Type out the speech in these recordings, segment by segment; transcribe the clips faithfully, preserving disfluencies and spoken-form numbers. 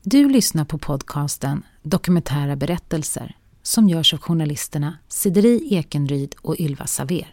Du lyssnar på podcasten Dokumentära berättelser som görs av journalisterna Sideri Ekenryd och Ylva Saver.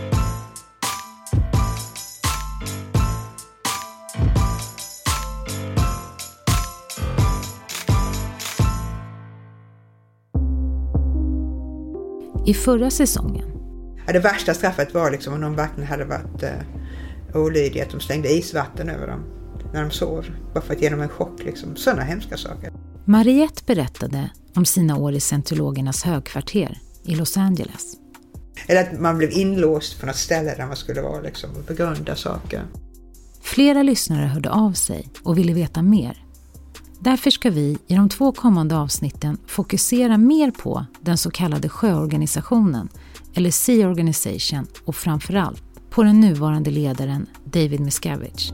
I förra säsongen. Ja, det värsta straffet var liksom om de verkligen hade varit eh, olydiga, att de slängde isvatten över dem när de sov. Bara för att ge dem en chock, liksom. Sådana hemska saker. Mariette berättade om sina år i scientologernas högkvarter i Los Angeles. Eller att man blev inlåst på något ställe där man skulle vara liksom, och begrunda saker. Flera lyssnare hörde av sig och ville veta mer. Därför ska vi i de två kommande avsnitten fokusera mer på den så kallade sjöorganisationen eller Sea Organization och framförallt på den nuvarande ledaren David Miscavige.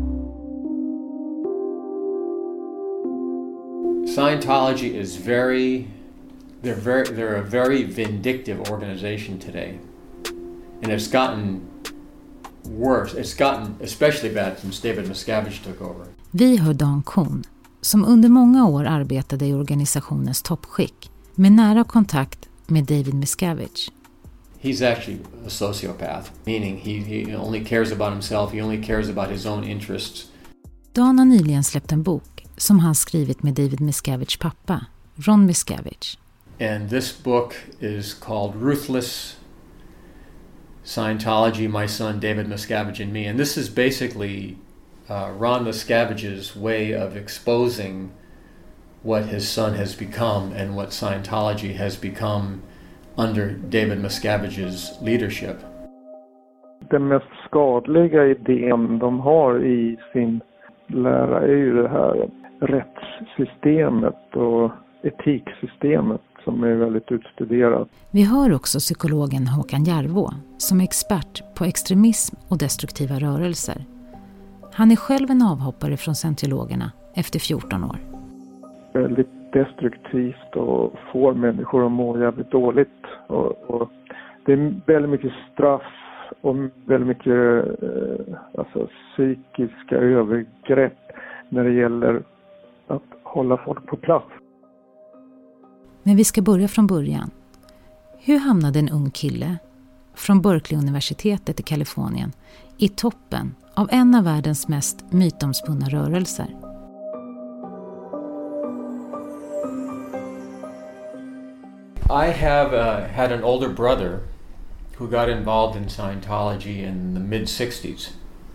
Scientology is very, they're very, they're a very vindictive organization today. And it's gotten worse. It's gotten especially bad since David Miscavige took over. Vi hör Dan Kuhn, som under många år arbetade i organisationens toppskick med nära kontakt med David Miscavige. He's actually a sociopath, meaning he, he only cares about himself, he only cares about his own interests. Dan har nyligen släppt en bok som han skrivit med David Miscaviges pappa, Ron Miscavige. And this book is called Ruthless Scientology, My Son David Miscavige and Me. And this is basically uh, Ron Miscavige's way of exposing what his son has become and what Scientology has become under David Miscavige's leadership. Den mest skadliga idén de har i sin lära är ju det här rättssystemet och etiksystemet som är väldigt utstuderat. Vi hör också psykologen Håkan Järvå som är expert på extremism och destruktiva rörelser. Han är själv en avhoppare från scientologerna efter fjorton år. Väldigt destruktivt och får människor att må jävligt dåligt. Och, och det är väldigt mycket straff och väldigt mycket eh, alltså, psykiska övergrepp när det gäller att hålla folk på plats. Men vi ska börja från början. Hur hamnade en ung kille från Berkeley-universitetet i Kalifornien i toppen av en av världens mest mytomspunna rörelser? I have uh, had an older brother who got involved in Scientology in the mid-sixties.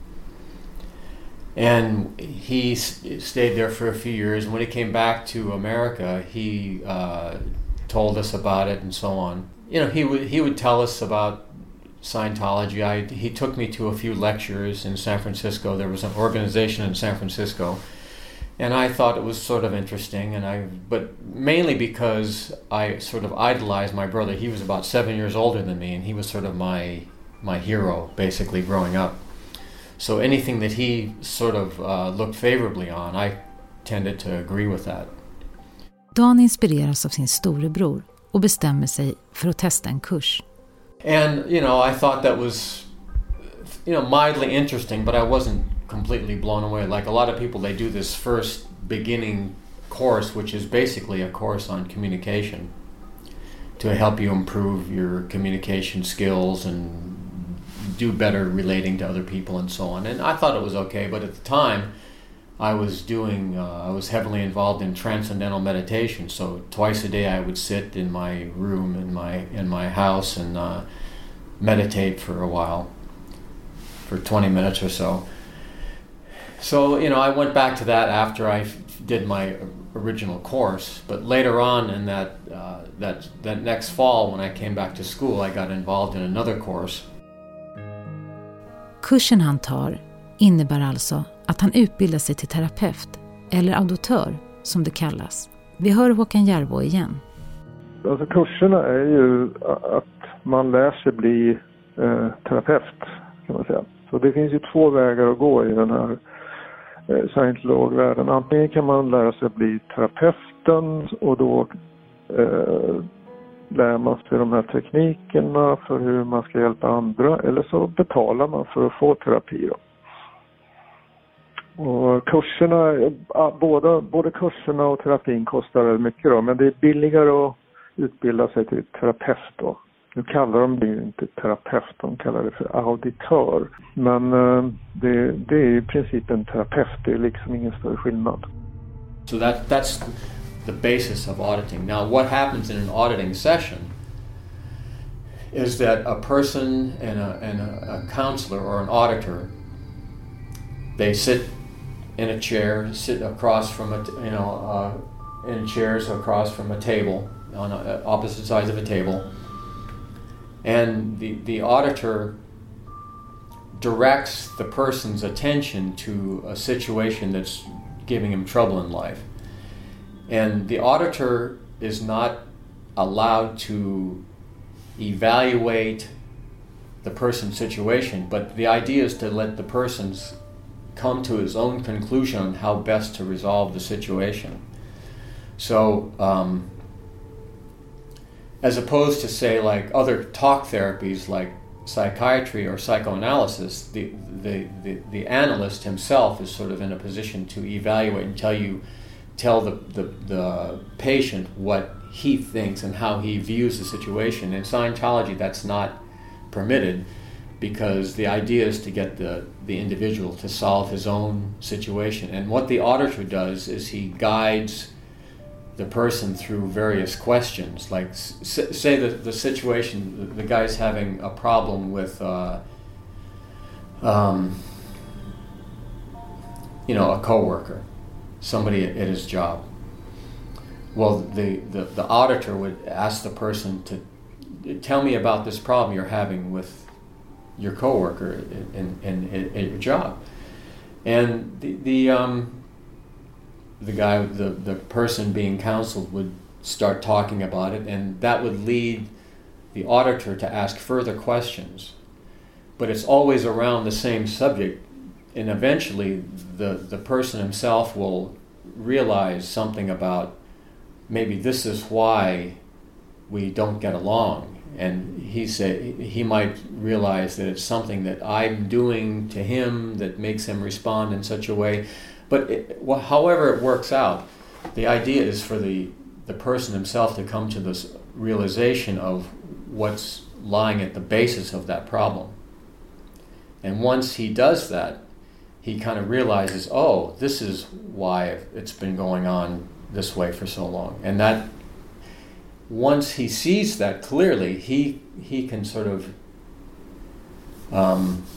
And he st- stayed there for a few years. And when he came back to America, he uh, told us about it and so on. You know, he would he would tell us about Scientology. I, he took me to a few lectures in San Francisco. There was an organization in San Francisco. And I thought it was sort of interesting, and I, but mainly because I sort of idolized my brother. He was about seven years older than me, and he was sort of my my hero, basically, growing up. So anything that he sort of uh, looked favorably on, I tended to agree with that. Dan inspireras av sin storebror och bestämmer sig för att testa en kurs. And, you know, I thought that was, you know, mildly interesting, but I wasn't completely blown away. Like a lot of people, they do this first beginning course, which is basically a course on communication to help you improve your communication skills and do better relating to other people and so on. And I thought it was okay, but at the time I was doing, uh, I was heavily involved in transcendental meditation. So twice a day I would sit in my room in my in my house and uh, meditate for a while, for twenty minutes or so. So, you know, I went back to that after I f- did my original course, but later on in that, uh, that that next fall when I came back to school, I got involved in another course. Kursen han tar innebär alltså att han utbildar sig till terapeut, eller auditör som det kallas. Vi hör Håkan Järvå igen. Alltså kurserna är ju att man lär sig bli eh, terapeut, kan man säga. Så det finns ju två vägar att gå i den här eh, scientologvärlden. Antingen kan man lära sig bli terapeuten och då eh, lär man sig de här teknikerna för hur man ska hjälpa andra, eller så betalar man för att få terapi då. Och kurserna, både, både kurserna och terapin kostar väldigt mycket då, men det är billigare att utbilda sig till terapeut då. Nu kallar de det ju inte terapeut, de kallar det för auditör. Men det, det är i princip en terapeut, det är liksom ingen större skillnad. So that, that's the basis of auditing. Now what happens in an auditing session is that a person and a, and a, a counselor or an auditor, they sit in a chair, sit across from a, you know, uh, in chairs across from a table, on a, opposite sides of a table. And the, the auditor directs the person's attention to a situation that's giving him trouble in life. And the auditor is not allowed to evaluate the person's situation, but the idea is to let the person come to his own conclusion on how best to resolve the situation. So, um, as opposed to say like other talk therapies like psychiatry or psychoanalysis, the, the, the, the analyst himself is sort of in a position to evaluate and tell you, tell the, the, the patient what he thinks and how he views the situation. In Scientology, that's not permitted because the idea is to get the, the individual to solve his own situation. And what the auditor does is he guides the person through various questions, like s- say that the situation, the guy's having a problem with, uh, um, you know, a coworker, somebody at, at his job. Well, the, the, the auditor would ask the person to tell me about this problem you're having with your coworker in, in, in, in your job. And the, the um, the guy, the, the person being counseled would start talking about it, and that would lead the auditor to ask further questions. But it's always around the same subject, and eventually the, the person himself will realize something about maybe this is why we don't get along. And he said he might realize that it's something that I'm doing to him that makes him respond in such a way. But it, well, however it works out, the idea is for the, the person himself to come to this realization of what's lying at the basis of that problem. And once he does that, he kind of realizes, oh, this is why it's been going on this way for so long. And that, once he sees that clearly, he he can sort of um,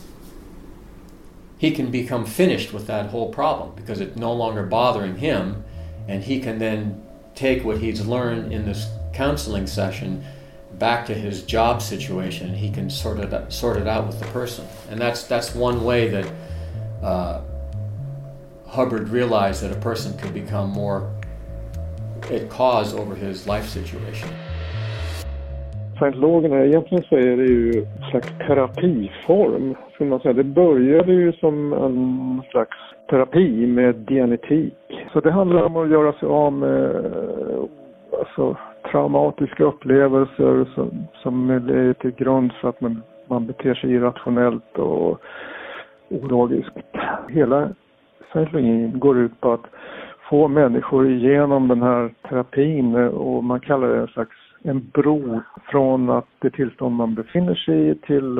he can become finished with that whole problem because it's no longer bothering him, and he can then take what he's learned in this counseling session back to his job situation, and he can sort it out, sort it out with the person. And that's that's one way that uh, Hubbard realized that a person could become more at cause over his life situation. Scientologerna, egentligen så är det ju en slags terapiform, skulle man säga. Det började ju som en slags terapi med dianetik. Så det handlar om att göra sig av med alltså, traumatiska upplevelser som, som är till grund för att man, man beter sig irrationellt och ologiskt. Hela scientologin går ut på att få människor igenom den här terapin, och man kallar det en slags en bro från att det tillstånd man befinner sig i till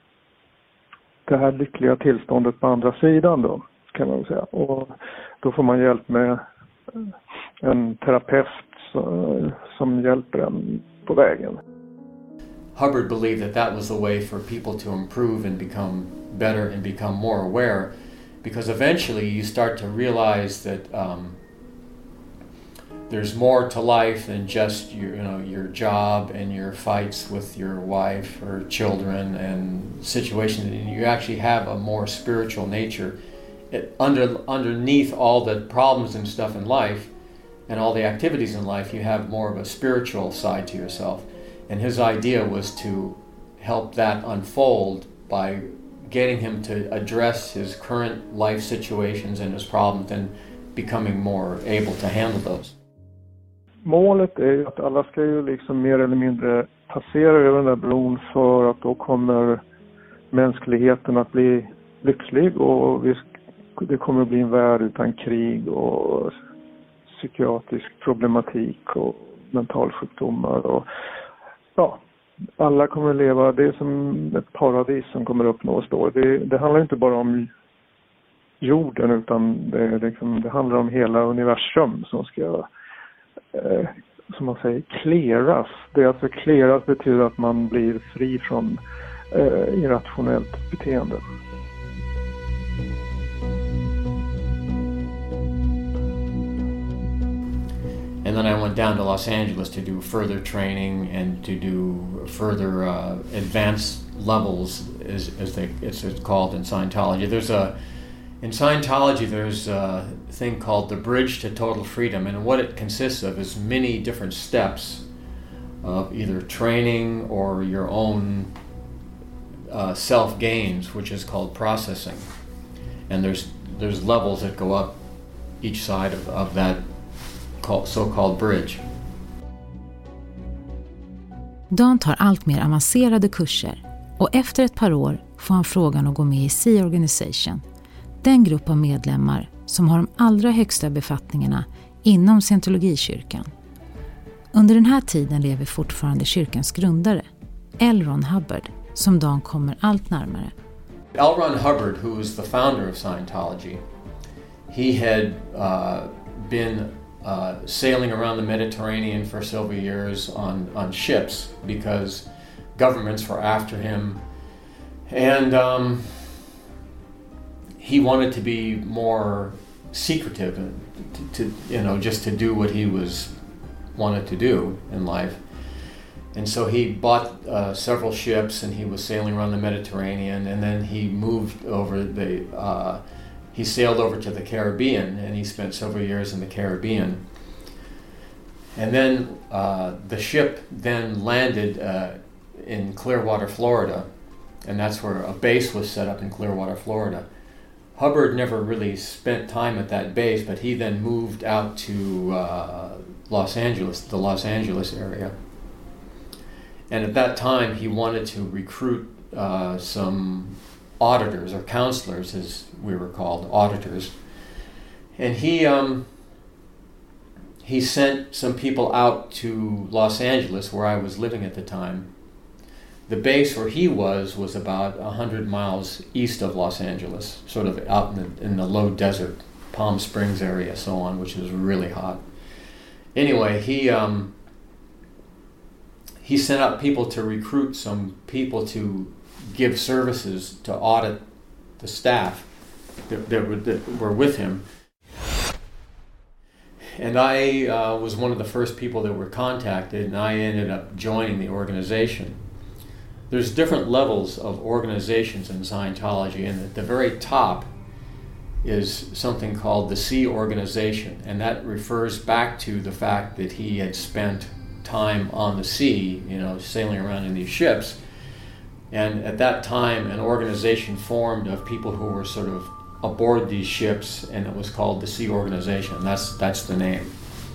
det här lyckliga tillståndet på andra sidan då, kan man säga. Och då får man hjälp med en terapeut som hjälper en på vägen. Hubbard believed that that was the way for people to improve and become better and become more aware, because eventually you start to realize that um, there's more to life than just your, you know, your job and your fights with your wife or children and situations. You actually have a more spiritual nature. It, under underneath all the problems and stuff in life and all the activities in life, you have more of a spiritual side to yourself. And his idea was to help that unfold by getting him to address his current life situations and his problems and becoming more able to handle those. Målet är ju att alla ska ju liksom mer eller mindre passera över den där bron, för att då kommer mänskligheten att bli lycklig, och vi det kommer att bli en värld utan krig och psykiatrisk problematik och mentalsjukdomar. Och, ja, alla kommer att leva, det är som ett paradis som kommer att uppnås då. Det, det handlar inte bara om jorden, utan det, liksom, det handlar om hela universum som ska, eh, som man säger, clearas. Det är alltså clearas betyder att man blir fri från eh, irrationellt beteende. And then I went down to Los Angeles to do further training and to do further uh, advanced levels, as, as they, it's called in Scientology. There's a in Scientology there's a thing called the Bridge to Total Freedom, and what it consists of is many different steps of either training or your own uh, self gains, which is called processing. And there's there's levels that go up each side of, of that so-called bridge. Dan tar allt mer avancerade kurser och efter ett par år får han frågan att gå med i Sea Organization, den grupp av medlemmar som har de allra högsta befattningarna inom scientologikyrkan. Under den här tiden lever fortfarande kyrkans grundare, L. Ron Hubbard, som Dan kommer allt närmare. L. Ron Hubbard, who was the founder of Scientology, he had uh, been Uh, sailing around the Mediterranean for several years on, on ships because governments were after him, and um, he wanted to be more secretive and to, to you know just to do what he was wanted to do in life. And so he bought uh, several ships and he was sailing around the Mediterranean, and then he moved over the uh, He sailed over to the Caribbean, and he spent several years in the Caribbean. And then uh, the ship then landed uh, in Clearwater, Florida, and that's where a base was set up in Clearwater, Florida. Hubbard never really spent time at that base, but he then moved out to uh, Los Angeles, the Los Angeles area. And at that time, he wanted to recruit uh, some auditors or counselors, as we were called, auditors. And he um, he sent some people out to Los Angeles, where I was living at the time. The base where he was was about one hundred miles east of Los Angeles, sort of out in the, in the low desert, Palm Springs area, so on, which is really hot. Anyway, he um, he sent out people to recruit some people to give services to audit the staff that, that, were, that were with him. And I uh, was one of the first people that were contacted, and I ended up joining the organization. There's different levels of organizations in Scientology, and at the very top is something called the Sea Organization, and that refers back to the fact that he had spent time on the sea, you know, sailing around in these ships. And at that time, an organization formed of people who were sort of aboard these ships, and it was called the Sea Organization. That's that's the name.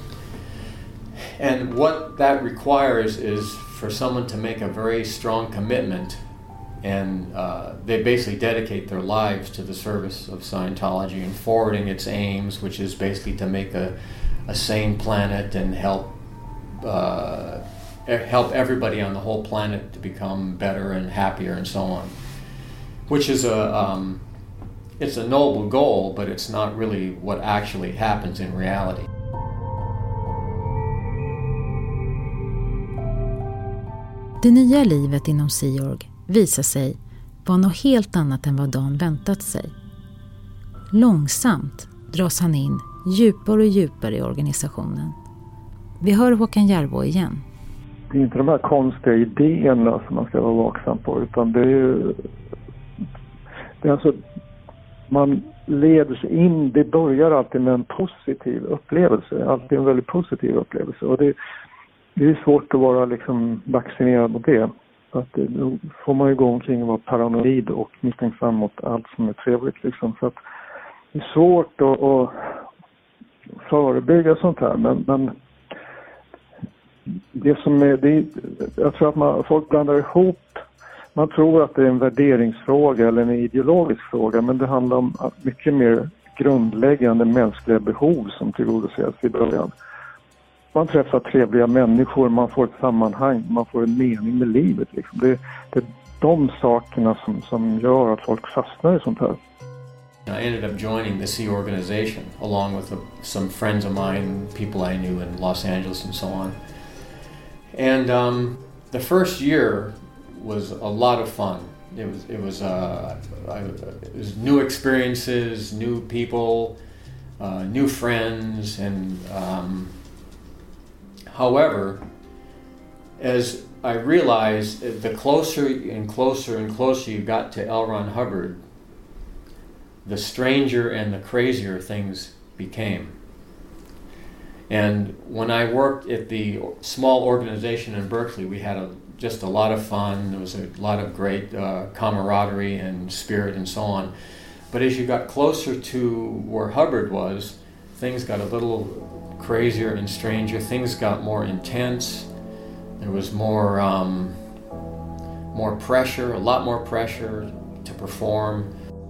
And what that requires is for someone to make a very strong commitment, and uh, they basically dedicate their lives to the service of Scientology and forwarding its aims, which is basically to make a, a sane planet and help uh, help everybody on the whole planet to become better and happier and so on. Which is a um, it's a noble goal, but it's not really what actually happens in reality. Det nya livet inom Sea Org visar sig vara något helt annat än vad Dan väntat sig. Långsamt dras han in djupare och djupare i organisationen. Vi hör Håkan Järbo igen. Det är inte de här konstiga idéerna som man ska vara vaksam på, utan det är ju... Det är alltså... Man leder sig in, det börjar alltid med en positiv upplevelse. Alltid en väldigt positiv upplevelse. Och det, det är svårt att vara liksom vaccinerad mot det. Att det, då får man ju gå omkring och vara paranoid och misstänksam mot allt som är trevligt. Liksom. Så att det är svårt att, att förebygga sånt här. Men, men det som är, det är, jag tror att man, folk blandar ihop man tror att det är en värderingsfråga eller en ideologisk fråga, men det handlar om mycket mer grundläggande mänskliga behov som tillgodoses i början. Man träffar trevliga människor, man får ett sammanhang, man får en mening med livet. Liksom. Det, det är de sakerna som, som gör att folk fastnar i sånt här. I ended up joining the Sea Organization along with a, some friends of mine, people I knew in Los Angeles and so on. And um, the first year was a lot of fun. It was it was uh, I, it was new experiences, new people, uh, new friends, and um, however, as I realized, the closer and closer and closer you got to L. Ron Hubbard, the stranger and the crazier things became. And when I worked at the small organization in Berkeley, we had a, just a lot of fun. There was a lot of great uh, camaraderie and spirit and so on. But as you got closer to where Hubbard was, things got a little crazier and stranger. Things got more intense. There was more, um, more pressure, a lot more pressure to perform.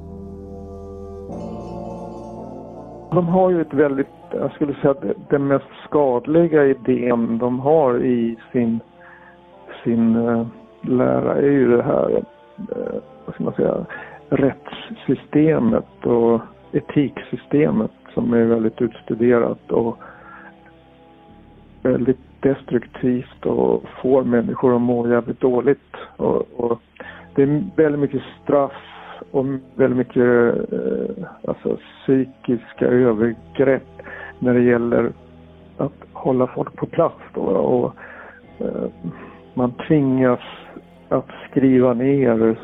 De har ju ett väldigt, jag skulle säga att den mest skadliga idén de har i sin, sin uh, lära är ju det här, uh, vad ska man säga, rättssystemet och etiksystemet som är väldigt utstuderat och väldigt destruktivt och får människor att må jävligt dåligt. Och, och det är väldigt mycket straff och väldigt mycket eh, alltså, psykiska övergrepp när det gäller att hålla folk på plats. Då, och eh, man tvingas att skriva ner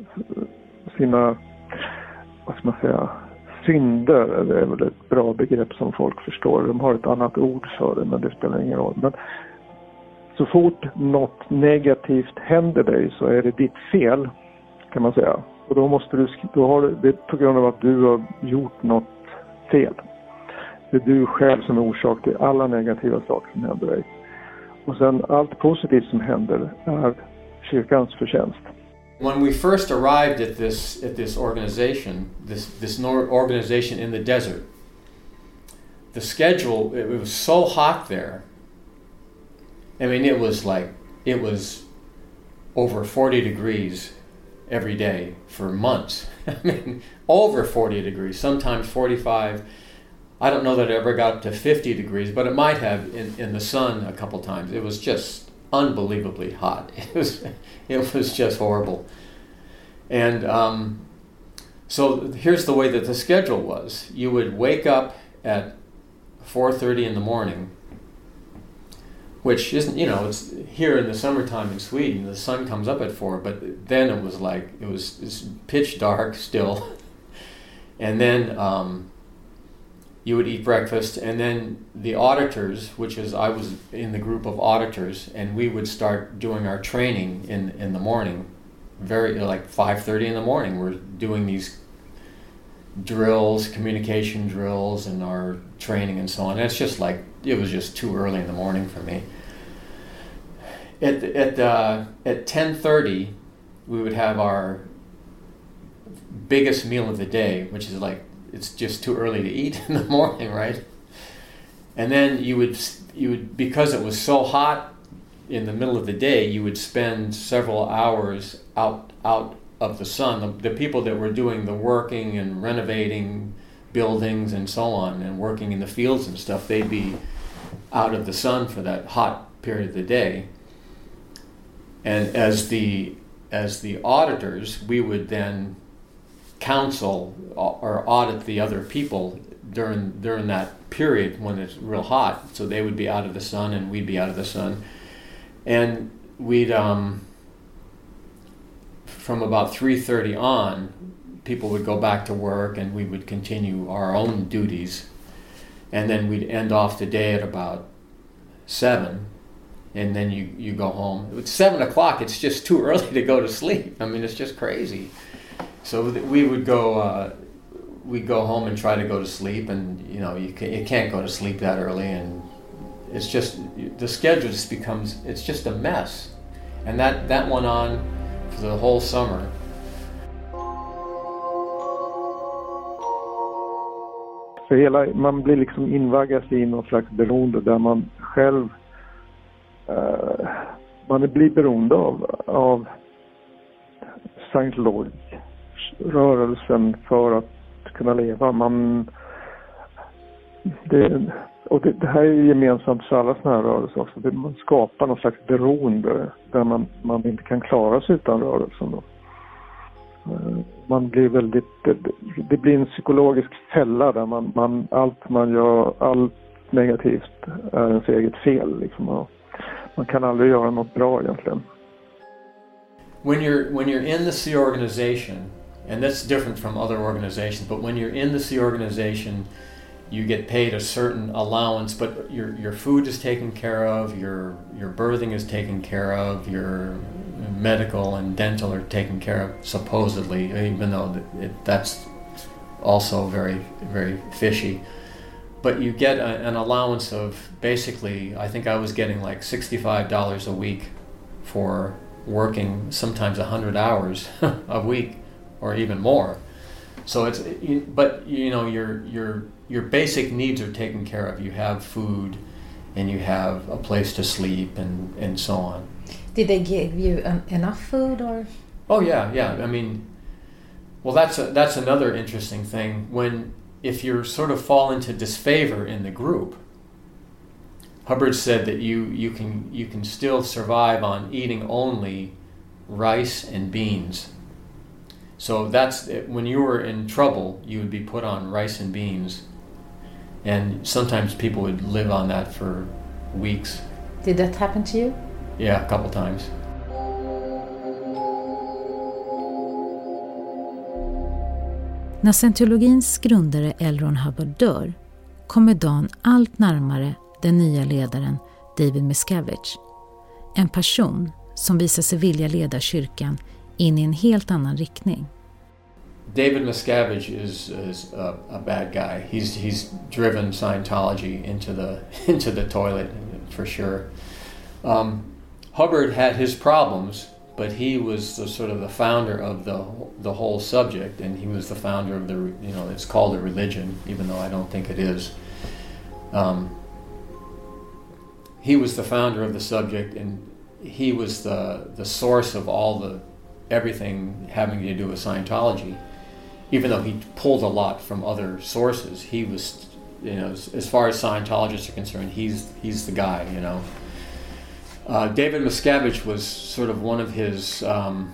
sina, vad ska man säga, synder. Det är väl ett bra begrepp som folk förstår. De har ett annat ord för det, men det spelar ingen roll. Men så fort något negativt händer dig så är det ditt fel, kan man säga. Och då måste du, då har du, det är på grund av att du har gjort något fel. Det är du själv som är orsak till alla negativa saker som händer dig. Och sen allt positivt som händer är kyrkans förtjänst. When we first arrived at this at this organization, this this organization in the desert, the schedule, it was so hot there. I mean, it was like, it was over forty degrees every day for months. I mean, over forty degrees, sometimes forty-five. I don't know that it ever got up to fifty degrees, but it might have in, in the sun a couple times. It was just unbelievably hot. It was, it was just horrible. And um, so here's the way that the schedule was. You would wake up at four thirty in the morning, which isn't, you know, it's here in the summertime in Sweden, the sun comes up at four, but then it was like, it was, it was pitch dark still. And then um, you would eat breakfast, and then the auditors, which is, I was in the group of auditors, and we would start doing our training in, in the morning, very like five thirty in the morning. We're doing these drills, communication drills, and our training and so on. And it's just like, it was just too early in the morning for me. At at uh, at ten thirty, we would have our biggest meal of the day, which is like, it's just too early to eat in the morning, right? And then you would you would because it was so hot in the middle of the day, you would spend several hours out out of the sun. The, the people that were doing the working and renovating buildings and so on, and working in the fields and stuff, they'd be out of the sun for that hot period of the day. And as the as the auditors, we would then counsel or audit the other people during during that period when it's real hot. So they would be out of the sun and we'd be out of the sun. And we'd um, from about three thirty on, people would go back to work and we would continue our own duties. And then we'd end off the day at about seven. And then you, you go home. It's seven o'clock, it's just too early to go to sleep. I mean, it's just crazy. So we would go, uh, we'd go home and try to go to sleep, and you know, you, can, you can't go to sleep that early, and it's just, the schedule just becomes, it's just a mess. And that, that went on for the whole summer. För hela, man blir liksom invaggas i någon slags beroende där man själv uh, man blir beroende av, av Scientology-rörelsen för att kunna leva. Man, det, och det, det här är gemensamt för alla sådana här rörelser också. Det, man skapar någon slags beroende där man, man inte kan klara sig utan rörelsen då. Man blir väldigt, det, det blir en psykologisk fälla där man, man, allt man gör, allt negativt är ens eget fel liksom. Man kan aldrig göra något bra egentligen. When you're when you're in the Sea organization, and that's different from other organizations, but when you're in the Sea organization, you get paid a certain allowance, but your your food is taken care of, your your birthing is taken care of, your medical and dental are taken care of, supposedly, even though it, that's also very, very fishy. But you get a, an allowance of basically, I think I was getting like sixty-five dollars a week for working sometimes one hundred hours a week or even more. So it's, but you know, your your your basic needs are taken care of. You have food and you have a place to sleep and, and so on. Did they give you um, enough food or? Oh yeah, yeah. I mean, well, that's a, that's another interesting thing. When if you sort of fall into disfavor in the group, Hubbard said that you you can you can still survive on eating only rice and beans. So that's when you were in trouble, you would be put on rice and beans, and sometimes people would live on that for weeks. Did that happen to you? Yeah, a couple times. När scientologins grundare L. Ron Hubbard dör kommer Dan allt närmare den nya ledaren David Miscavige. En person som visar sig vilja leda kyrkan in i en helt annan riktning. David Miscavige is, is a, a bad guy. He's he's driven Scientology into the into the toilet for sure. Um, Hubbard had his problems, but he was the sort of the founder of the the whole subject, and he was the founder of the, you know, it's called a religion, even though I don't think it is. Um, he was the founder of the subject, and he was the the source of all the everything having to do with Scientology. Even though he pulled a lot from other sources, he was, you know, as, as far as Scientologists are concerned, he's he's the guy, you know. Uh, David Miscavige was sort of one of his um,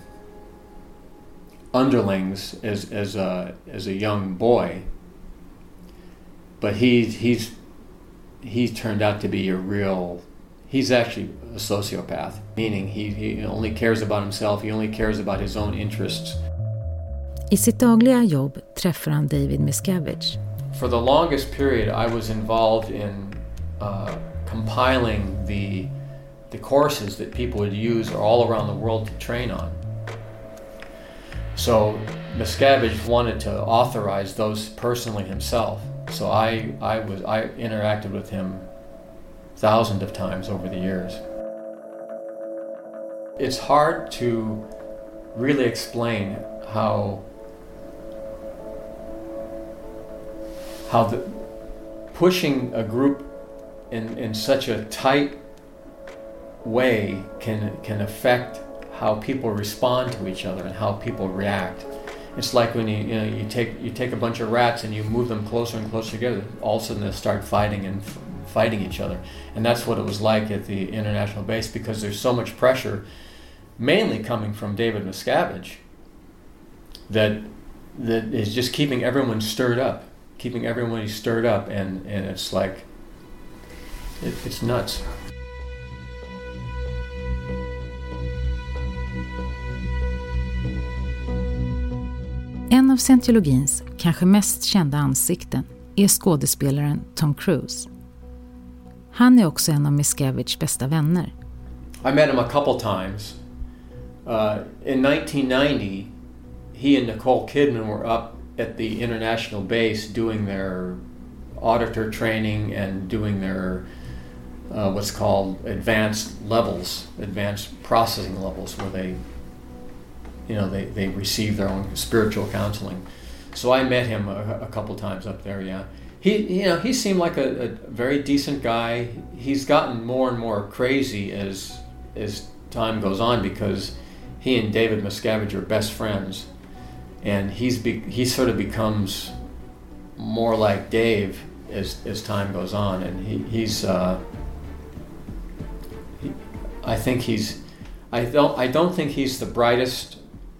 underlings as as a as a young boy, but he he's he turned out to be a real. He's actually a sociopath, meaning he, he only cares about himself. He only cares about his own interests. I sitt dagliga jobb träffar han David Miscavige. For the longest period, I was involved in uh, compiling the the courses that people would use all around the world to train on. So Miscavige wanted to authorize those personally himself. So I I was I interacted with him thousands of times over the years. It's hard to really explain how how the pushing a group in, in such a tight way can can affect how people respond to each other and how people react. It's like when you you know you take you take a bunch of rats and you move them closer and closer together. All of a sudden they'll start fighting and f- fighting each other, and that's what it was like at the international base, because there's so much pressure, mainly coming from David Miscavige, that that is just keeping everyone stirred up, keeping everyone stirred up, and, and it's like it, it's nuts. En av scientologins kanske mest kända ansikten är skådespelaren Tom Cruise. Han är också en av Miscaviges bästa vänner. I met him a couple times. Uh, in nineteen ninety, he and Nicole Kidman were up at the international base doing their auditor training and doing their uh, what's called advanced levels, advanced processing levels, where they you know, they, they receive their own spiritual counseling. So I met him a, a couple times up there, yeah. He, you know, he seemed like a, a very decent guy. He's gotten more and more crazy as as time goes on because he and David Miscavige are best friends, and he's be, he sort of becomes more like Dave as as time goes on, and he, he's. Uh, he, I think he's. I don't. I don't think he's the brightest.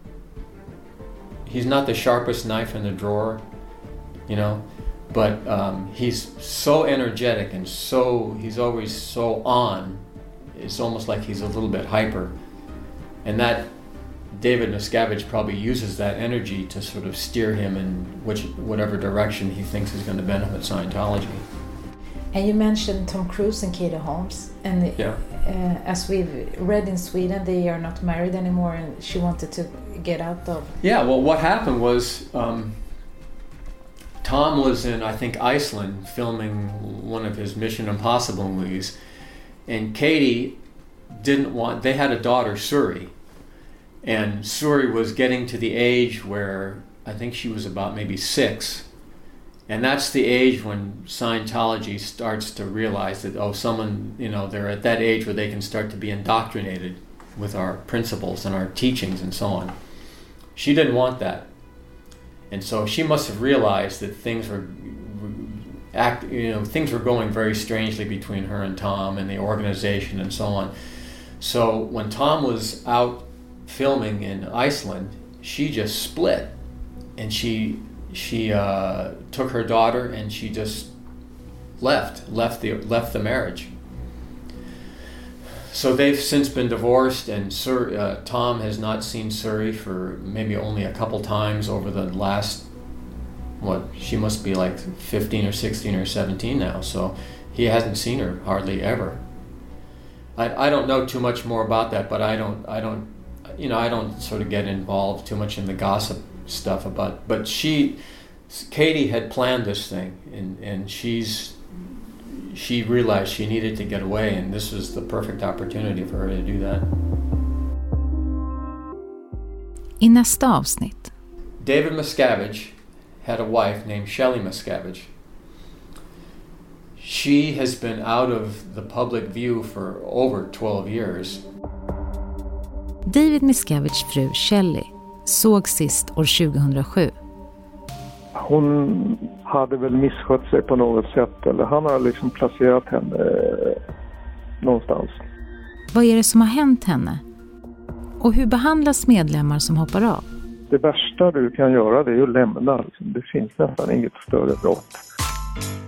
He's not the sharpest knife in the drawer, you know. But um, he's so energetic and so, he's always so on. It's almost like he's a little bit hyper. And that, David Miscavige probably uses that energy to sort of steer him in which, whatever direction he thinks is going to benefit Scientology. And you mentioned Tom Cruise and Katie Holmes. And yeah. uh, as we've read in Sweden, they are not married anymore and she wanted to get out of... Yeah, well, what happened was... Um, Tom was in, I think, Iceland filming one of his Mission Impossible movies, and Katie didn't want, they had a daughter, Suri, and Suri was getting to the age where I think she was about maybe six, and that's the age when Scientology starts to realize that, oh, someone, you know, they're at that age where they can start to be indoctrinated with our principles and our teachings and so on. She didn't want that. And so she must have realized that things were, act, you know, things were going very strangely between her and Tom and the organization and so on. So when Tom was out filming in Iceland, she just split, and she she uh, took her daughter and she just left left the left the marriage. So they've since been divorced, and Sur, uh, Tom has not seen Suri for maybe only a couple times over the last, what, she must be like fifteen or sixteen or seventeen now, so he hasn't seen her hardly ever. I, I don't know too much more about that, but I don't, I don't, you know, I don't sort of get involved too much in the gossip stuff about, but she, Katie had planned this thing, and, and she's, she realized she needed to get away, and this was the perfect opportunity for her to do that. I nästa avsnitt. David Miscavige had a wife named Shelley Miscavige. She has been out of the public view for over twelve years. David Miscaviges fru Shelley såg sist år tjugohundrasju. Hon hade väl misskött sig på något sätt, eller han har liksom placerat henne eh, någonstans. Vad är det som har hänt henne? Och hur behandlas medlemmar som hoppar av? Det värsta du kan göra, det är att lämna. Det finns nästan inget större brott.